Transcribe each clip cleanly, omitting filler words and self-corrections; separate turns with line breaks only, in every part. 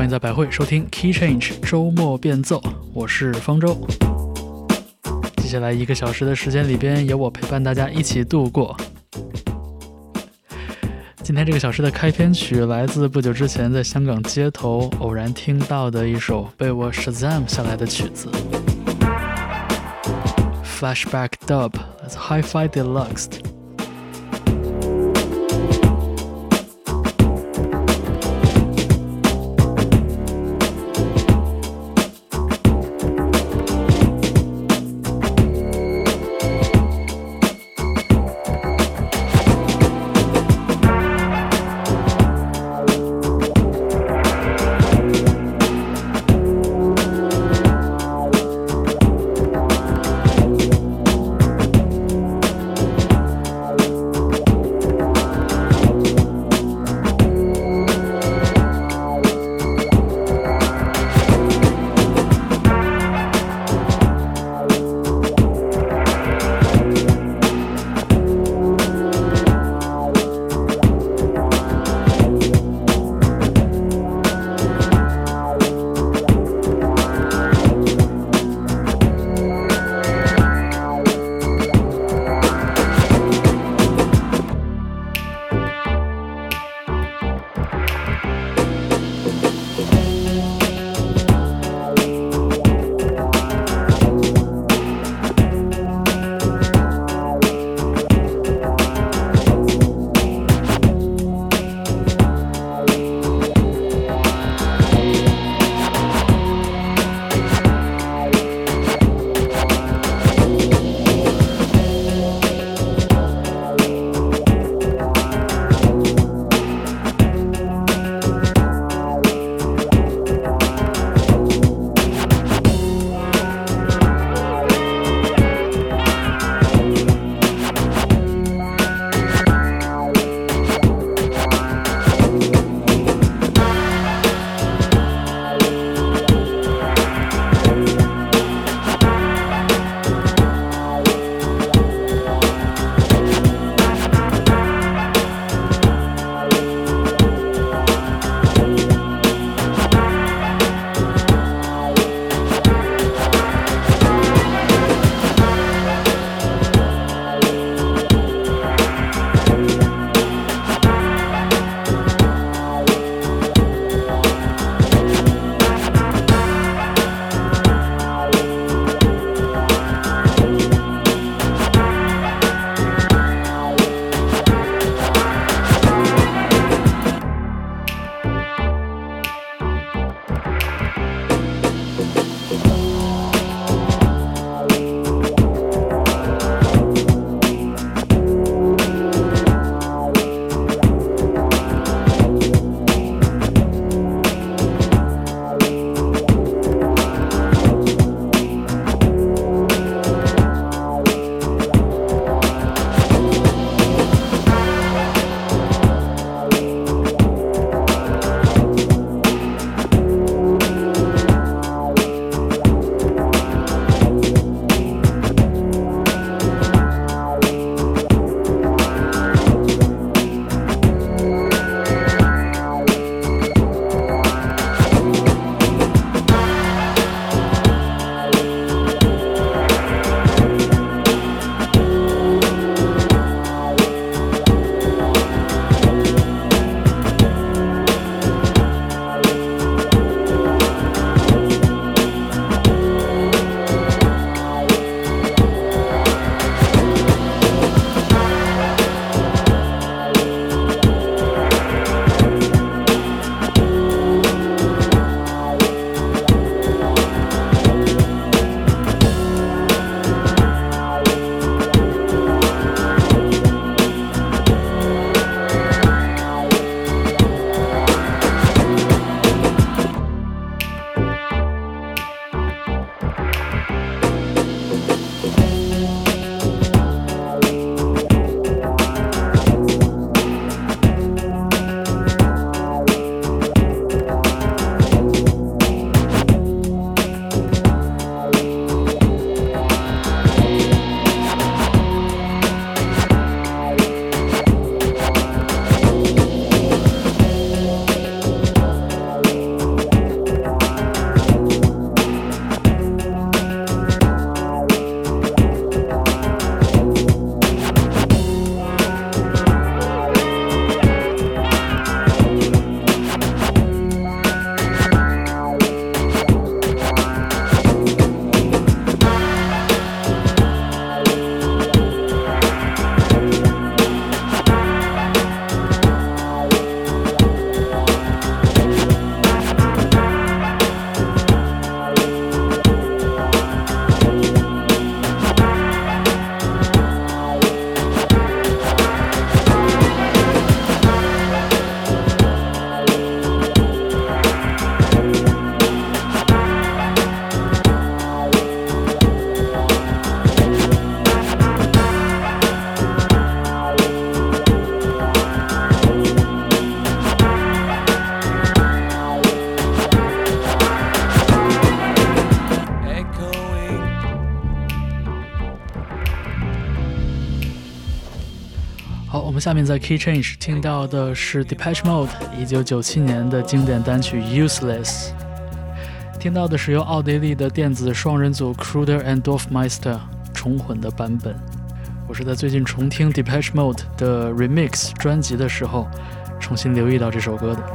欢迎在百汇收听 Key Change 周末变奏，我是方舟。接下来1个小时的时间里边，由我陪伴大家一起度过。今天这个小时的开篇曲来自不久之前在香港街头偶然听到的一首被我 Shazam 下来的曲子 Flashback Dub Hi-Fi Deluxe。 下面在 Key Change 听到的是 Depeche Mode 1997年的经典单曲 Useless， 听到的是由奥地利的电子双人组 Kruder and Dorfmeister 重混的版本。我是在最近重听 Depeche Mode 的 Remix 专辑的时候重新留意到这首歌的。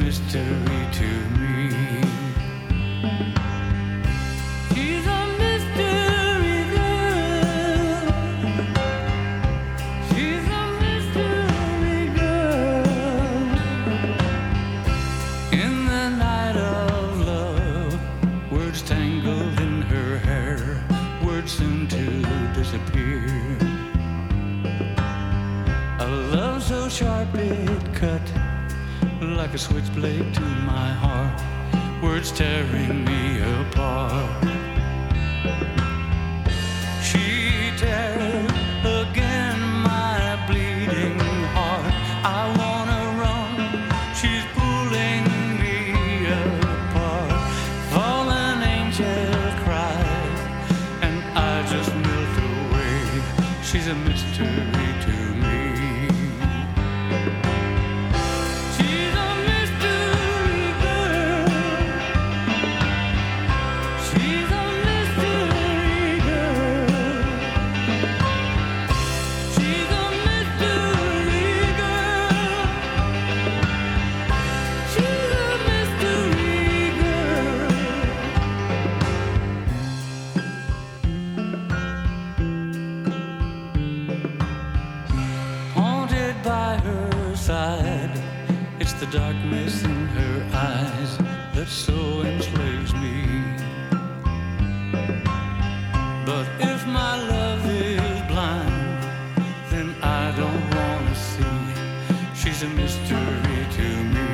mystery to me. She's a mystery girl. She's a mystery girl. In the night of love, words tangled in her hair, words soon to disappear. A love so sharp it cut like a switchblade to my heart, words tearing me apart. She tears again my bleeding heart. I wanna run, she's pulling me apart. Fallen angels cry, and I just melt away. She's a mystery to me. It's the darkness in her eyes that so enslaves me. But if my love is blind, then I don't wanna see. She's a mystery to me.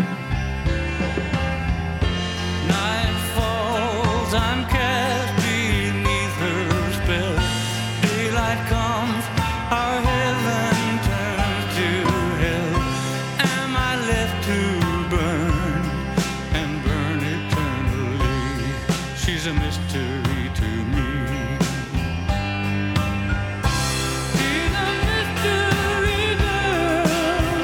Night falls, I'm cast beneath her spell. Daylight comes, our heaven turns to hell. Am I left to burn and burn eternally? She's a mystery to me. She's a mystery girl.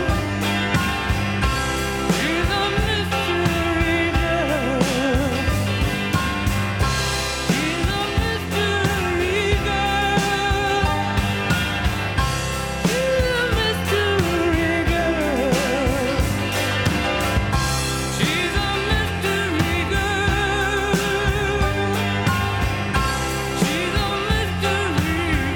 She's a mystery girl. She's a mystery girl. She's a mystery girl. She's a mystery girl. She's a mystery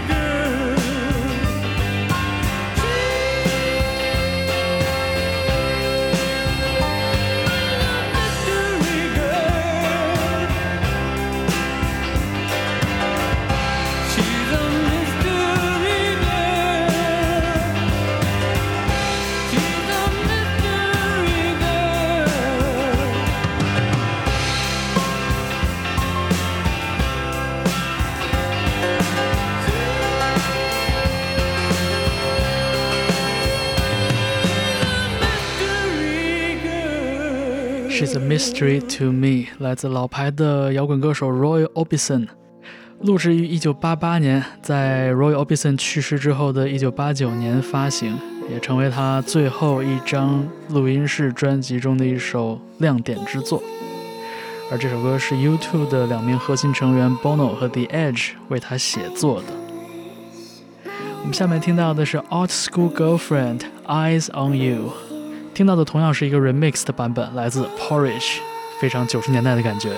She's a mystery to me， 来自老牌的摇滚歌手 Roy Orbison， 录制于1988年，在 Roy Orbison 去世之后的1989年发行，也成为他最后一张录音室专辑中的一首亮点之作。而这首歌是 U2 的2名核心成员 Bono 和 The Edge 为他写作的。我们下面听到的是 Art School Girlfriend Eyes on You， 听到的同样是一个 remix 的版本，来自 Porridge， 非常90年代的感觉。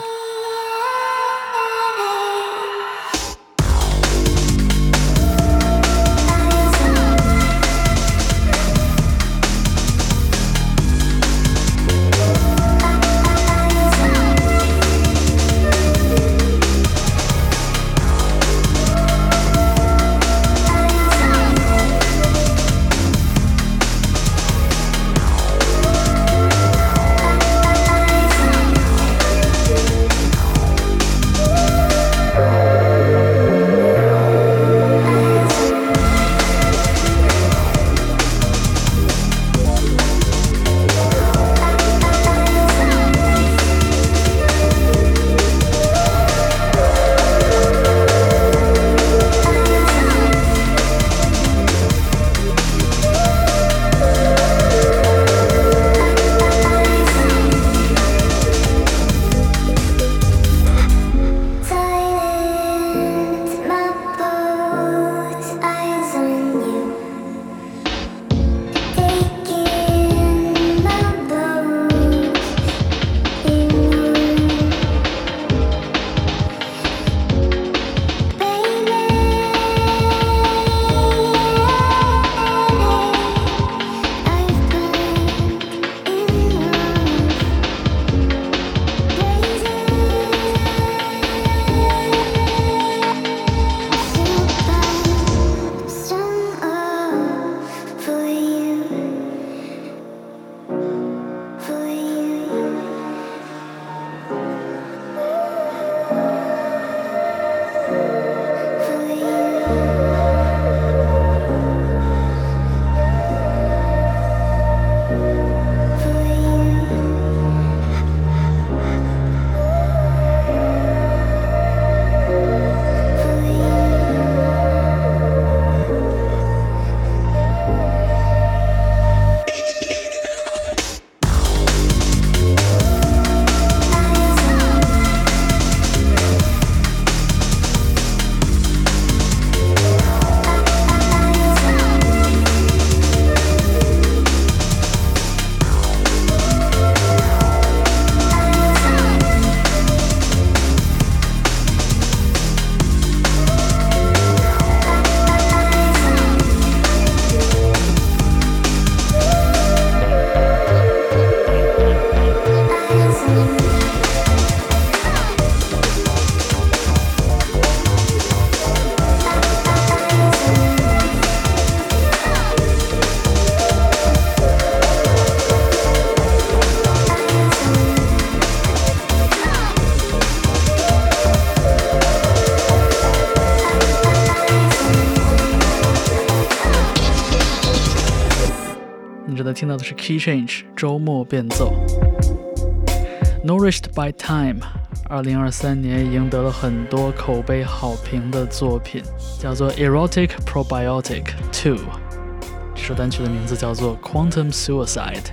听到的是 Key Change 周末变奏。 Nourished by Time 2023年赢得了很多口碑好评的作品，叫做 Erotic Probiotic 2， 这首单曲的名字叫做 Quantum Suicide。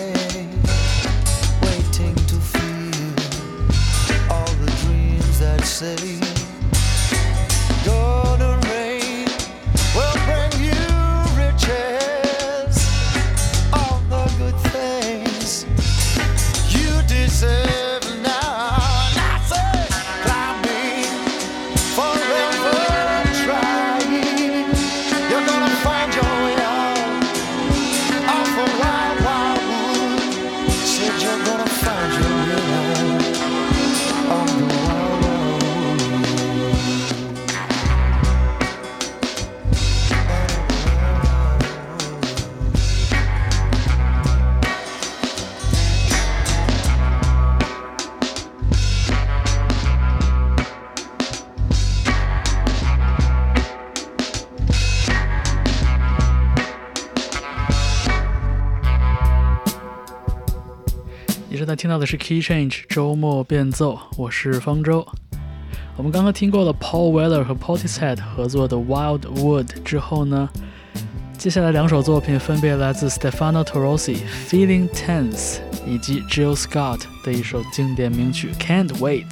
waiting to feel all the dreams that say golden rain will bring you riches, all the good things you deserve.
你正在听到的是 Key Change 周末变奏，我是方舟。我们刚刚听过了 Paul Weller 和 Portishead 合作的 Wildwood 之后呢，接下来两首作品分别来自 Stefano Torrosi Feeling Tense 以及 Jill Scott 的一首经典名曲 Can't Wait。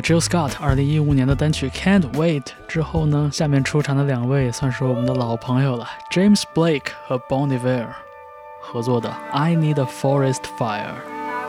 Jill Scott 2015年的单曲 Can't Wait 之后呢，下面出场的两位算是我们的老朋友了， James Blake 和 Bon Iver 合作的 I Need a Forest Fire。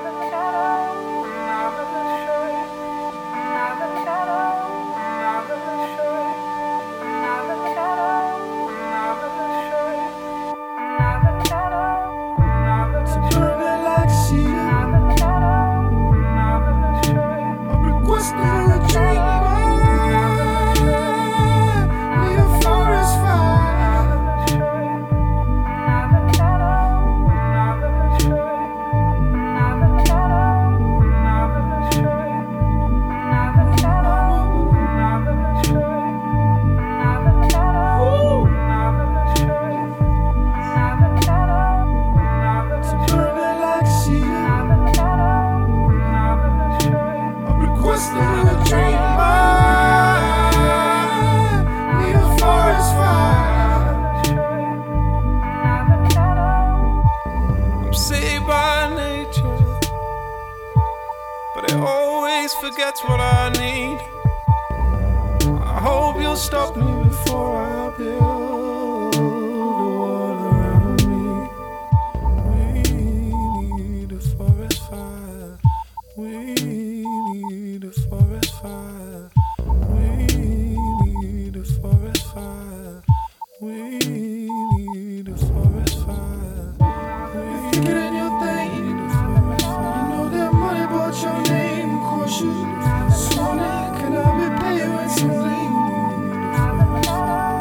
Forgets what I need. I hope you'll stop me before I build a wall around me. We need a forest fire. We need a forest fire. We need a forest fire. We need a forest fire. If you're getting your thing, you know that money bought your name. Swan, can I be playing with some lean?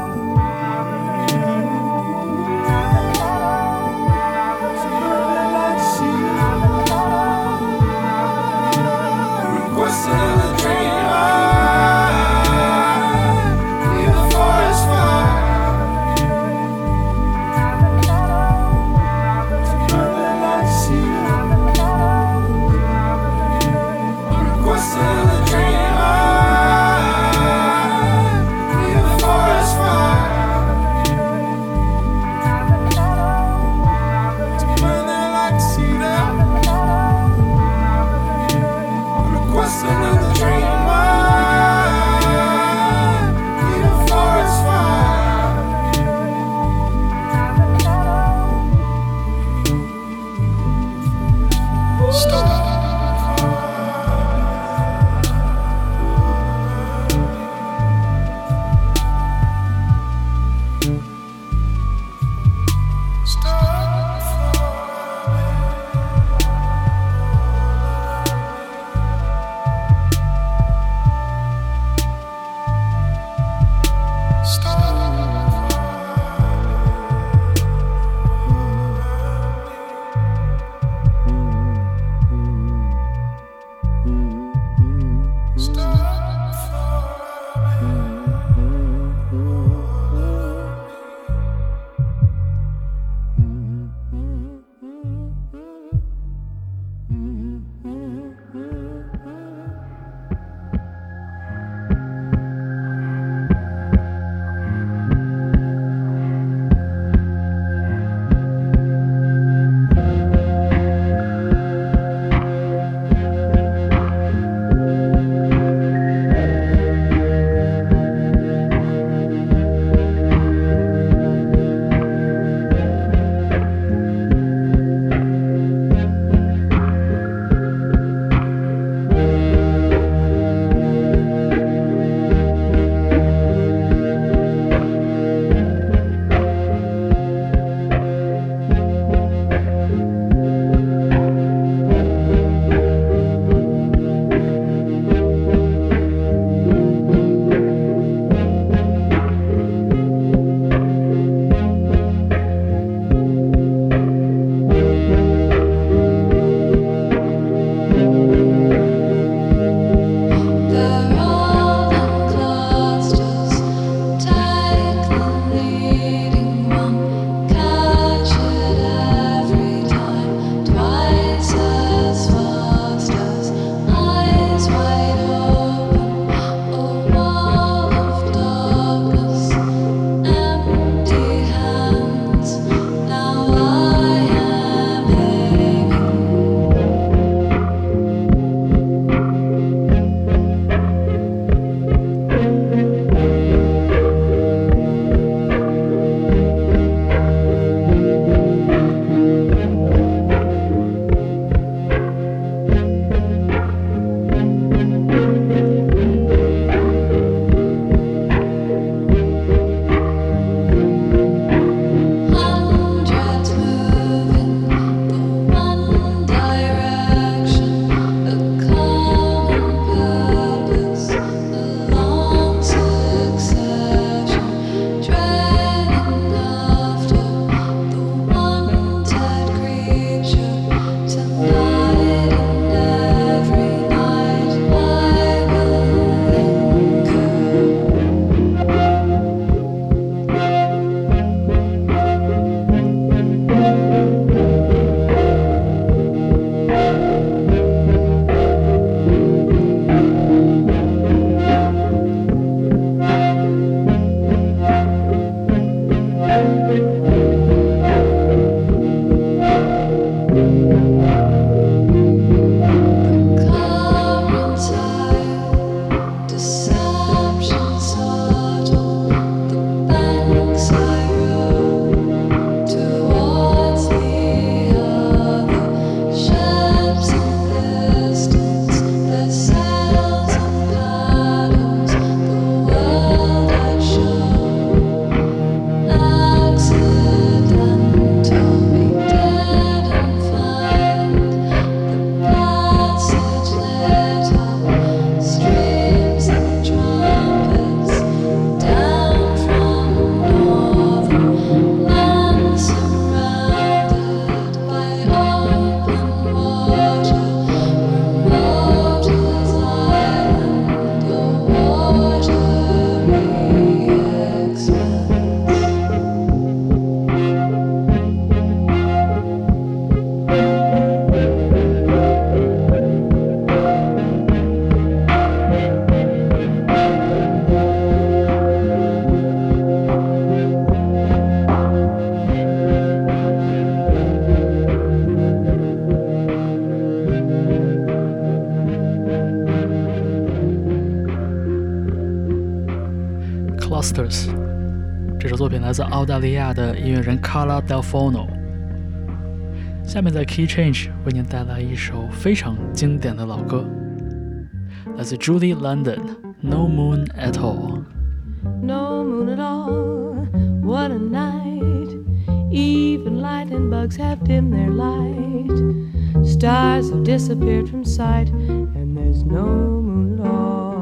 Clusters。这首作品来自澳大利亚的音乐人 Carla Delfono。下面在 Key Change 为您带来一首非常经典的老歌，来自 Julie London，No Moon at
All。No moon at all, what a night. Even lightning bugs have dimmed their light. Stars have disappeared from sight, and there's no moon at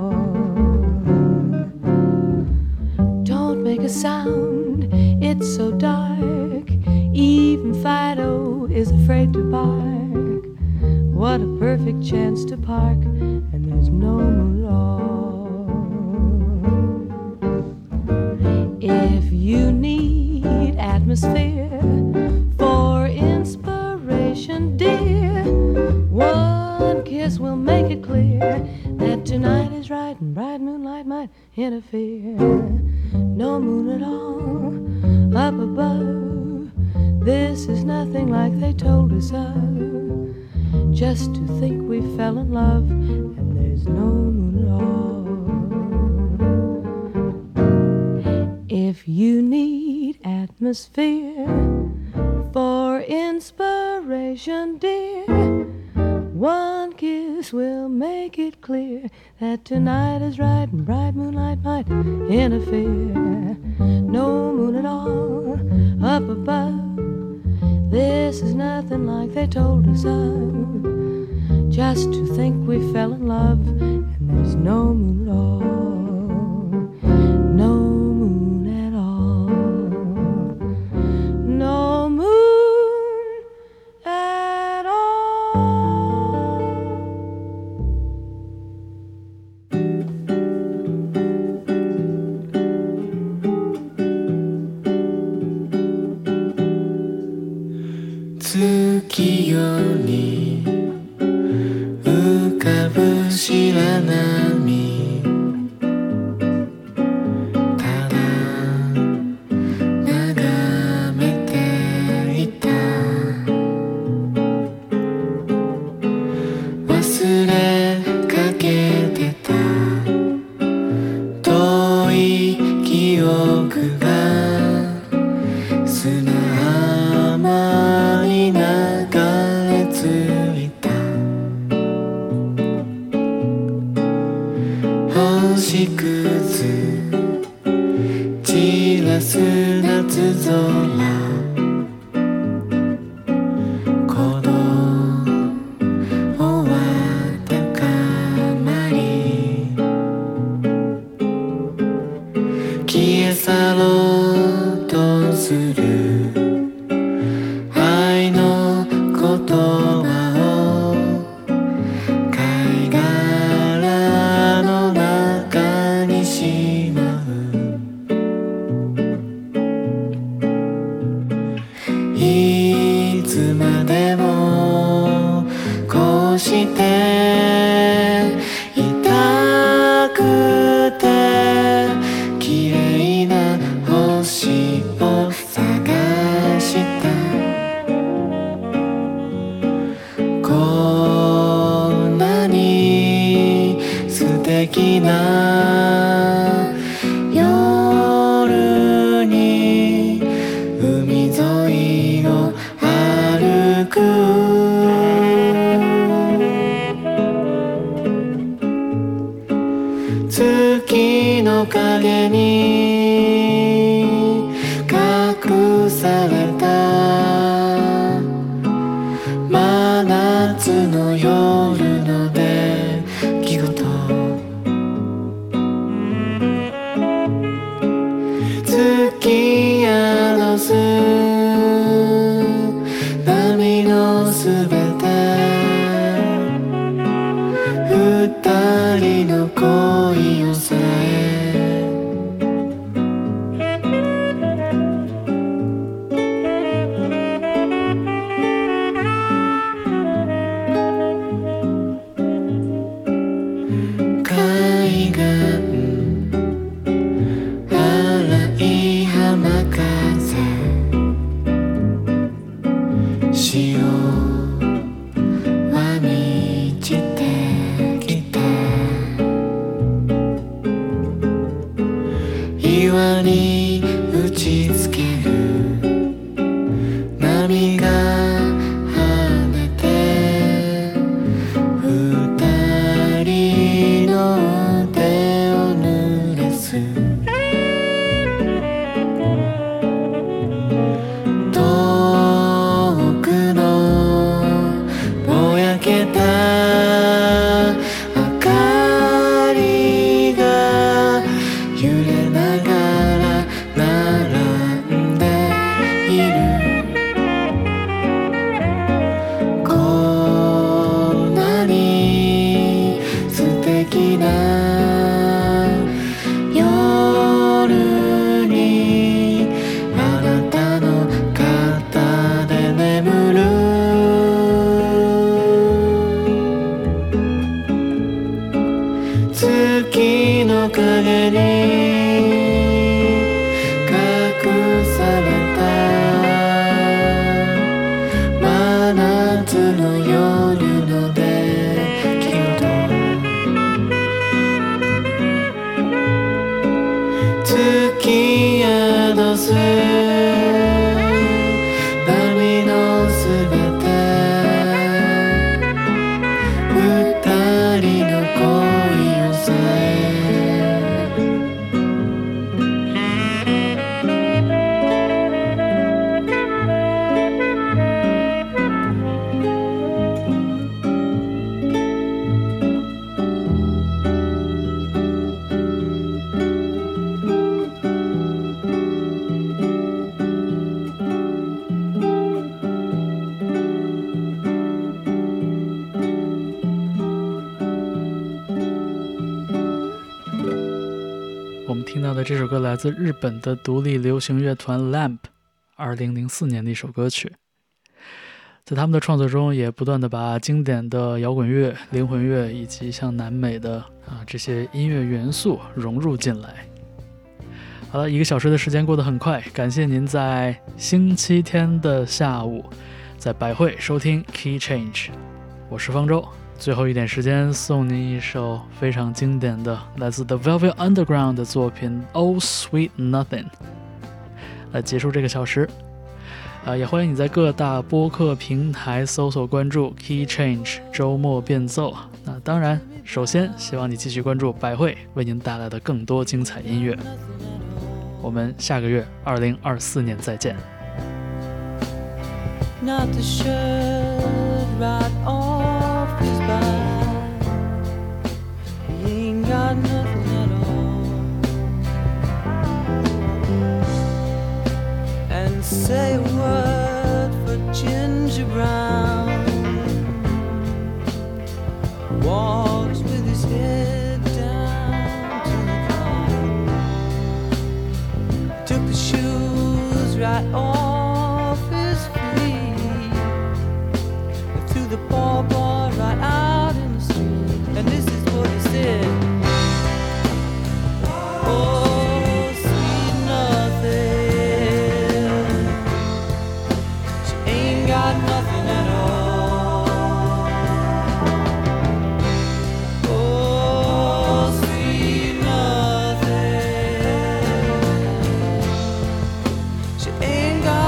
all. Don't make a sound, it's so dark. Even Fido is afraid to bark. What a perfect chance to park, and there's no moon at all. If you need atmosphere for inspiration, dear, one kiss will make it clear that tonight is right and bright moonlight might interfere. No moon at all up above, this is nothing like they told us of. Just to think we fell in love, and there's no moon at all. If you need atmosphere for inspiration, dear, one kiss will make it clear that tonight is right and bright moonlight might interfere. No moon at all up above, this is nothing like they told us of. Just to think we fell in love, and there's no moon at all. No moon at all. No moon at all.
Tsukiより浮かぶ白波、ただ眺めていた。忘れかけてた遠い記憶が砂浜に流れ着いた。星屑散らす夏空、鼓動は高まり消え去ろうとする愛の言葉を貝殻の中にしまう。いつまでもこうしていたくて、綺麗な星を探した。こんなに素敵な夜に海沿いを歩く。月の影に隠された真夏の夜の出来事、月やろす波のすべて、二人の恋をさえ
際に打ちつける波が跳ねて二人の手を濡らす遠くのぼやけた明かりが揺れながら並んでいるこんなに素敵な夜にあなたの肩で眠る月の影に隠された真夏の夜の出来事突き宿す波のすべて二人の恋をさえ
我们听到的这首歌来自日本的独立流行乐团 Lamp 2004年的一首歌曲。在他们的创作中也不断的把经典的摇滚乐、灵魂乐以及像南美的这些音乐元素融入进来。好了，1个小时的时间过得很快，感谢您在星期天的下午在百汇收听 Key Change， 我是方舟。最后一点时间送您一首非常经典的来自 The Velvet Underground 的作品 Oh Sweet Nothing 来结束这个小时。也欢迎你在各大播客平台搜索关注 Key Change 周末变奏。那当然首先希望你继续关注百汇为您带来的更多精彩音乐。我们下个月2024年再见。
Not the shirt right off his back. He ain't got nothing at all. And say a word for Ginger Brown. Walks with his head down to the ground. Took the shoes right off his feet. Threw the ball right out in the street. And this is what he said. Oh, sweet nothing. She ain't got nothing at all. Oh, sweet nothing. She ain't got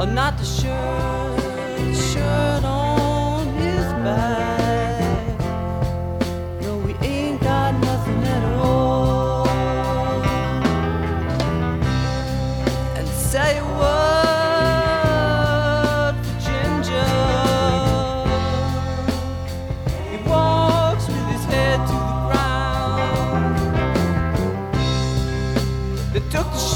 Oh, not the shirt on his back. No, we ain't got nothing at all. And say what for Ginger? He walks with his head to the ground. They took the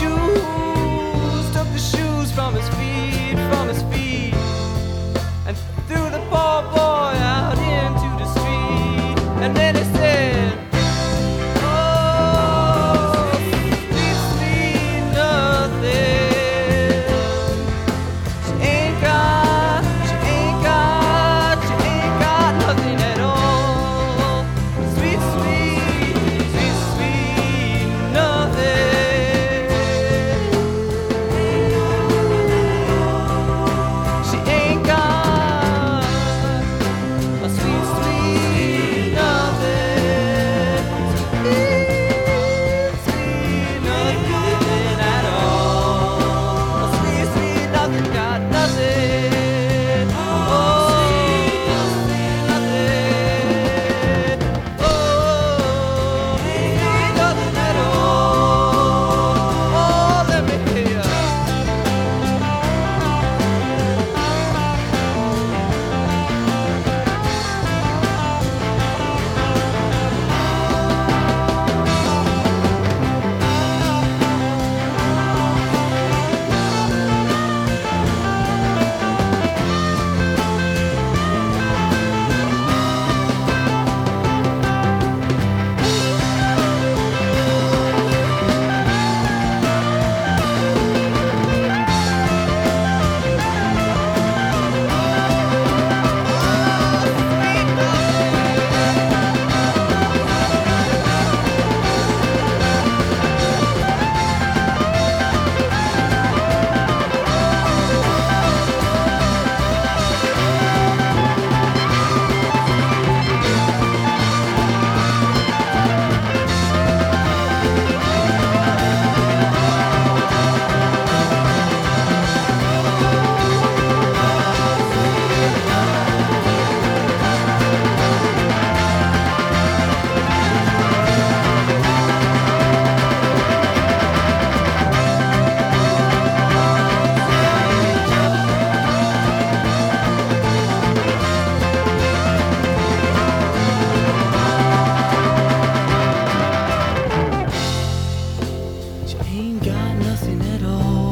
shoes from his feet, and threw the poor boy out into the street. And then he said, oh, sweet, sweet nothing. She ain't got nothing at all. Sweet, sweet, sweet, sweet nothing. She ain't got a sweet, sweet nothing. Sweet, sweet nothing at all. A sweet, sweet nothing, got nothing. Oh, nothing. Oh, sweet nothing at all. Oh, let me hear ya. She ain't got nothing at all.